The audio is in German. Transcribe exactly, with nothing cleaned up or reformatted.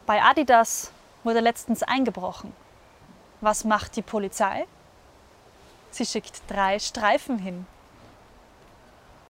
Bei Adidas wurde letztens eingebrochen. Was macht die Polizei? Sie schickt drei Streifen hin.